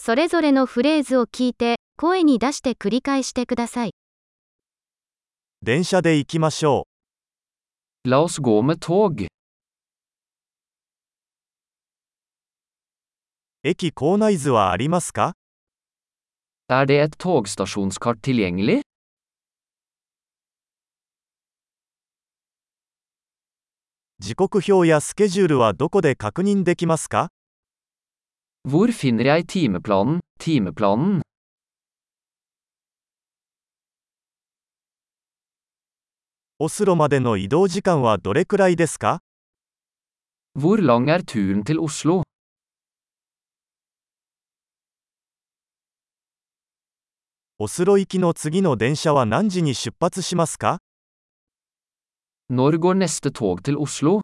それぞれのフレーズを聞いて、声に出して繰り返してください。 電車で行きましょ La oss gå med tog. う。駅構内図はありますか？ Er det et togstasjonskart tilgjengelig? 時刻表やスケジュールはどこで確認できますか？ Hvor finner jeg timeplanen? オスロまでの移動時間はどれくらいですか？ Hvor lang er turen til Oslo? オスロ行きの次の電車は何時に出発しますか？ Når går neste tog til Oslo?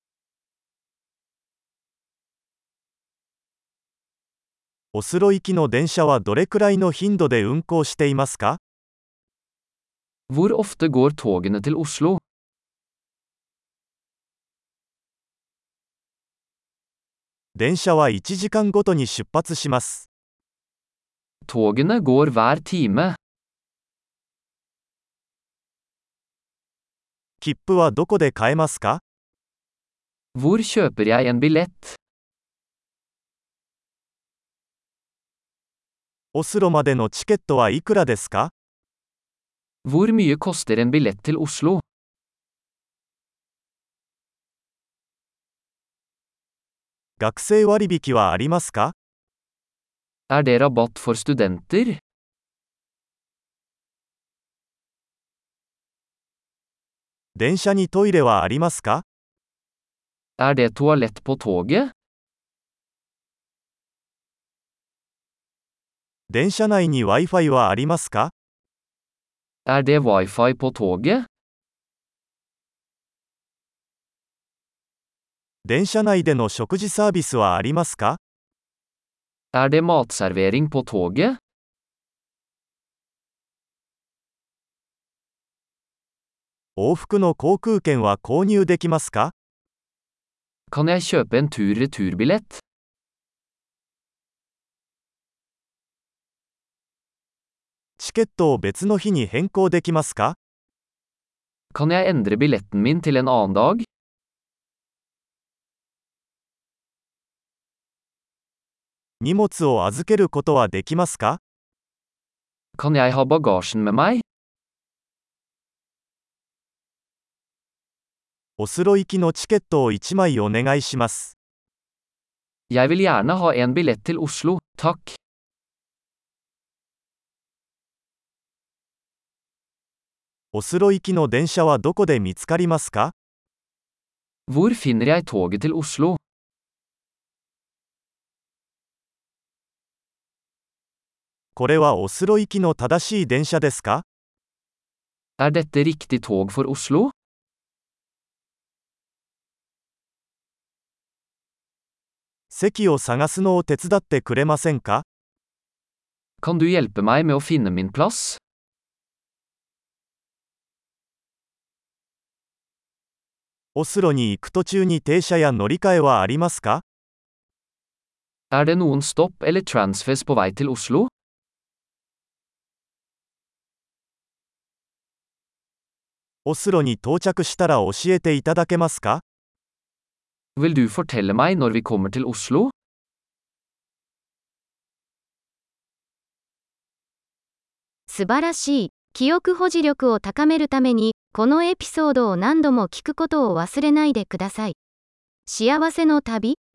オスロ行きの電車はどれくらいの頻度で運行していますか？ Hvor ofte går togene til Oslo? 電車は1時間ごとに出発します。 Togene går hver time. 切符はどこで買えますか？ Hvor kjøper jeg en billett? オスロまでのチケットはいくらですか？ Hvor mye koster en billett til Oslo? 学生割引はありますか？ Er det rabatt for studenter? 電車にトイレはありますか？ Er det toalett på toget? 電車内に Wi-Fi はありますか？ Er det wifi på toget? 電車内での食事サービスはありますか？ Er det matservering på toget? 往復の航空券は購入できますか？ Kan jeg kjøpe en tur-retur-billett? チケットを別の日に変更できますか？ Kan jeg endre billetten min til en annen dag? 荷物を預けることはできますか？ Kan jeg ha bagasjen med meg? オスロ行きのチケットを1枚お願いします。 Jeg vil gjerne ha en billett til Oslo, takk. オスロ行きの電車はどこで見つかりますか？ Hvor finner jeg toget til Oslo? これはオスロ行きの正しい電車ですか？ Er dette riktig tog for Oslo? 席を探すのを手伝ってくれませんか？ Kan du hjelpe meg med å finne min plass? オスロに行く途中に停車や乗り換えはありますか？ Er det noen stopp eller transfers på vei til Oslo? オスロに到着したら教えていただけますか？ Vil du fortelle meg når vi kommer til Oslo? 素晴らしい。記憶保持力を高めるために、このエピソードを何度も聞くことを忘れないでください。幸せの旅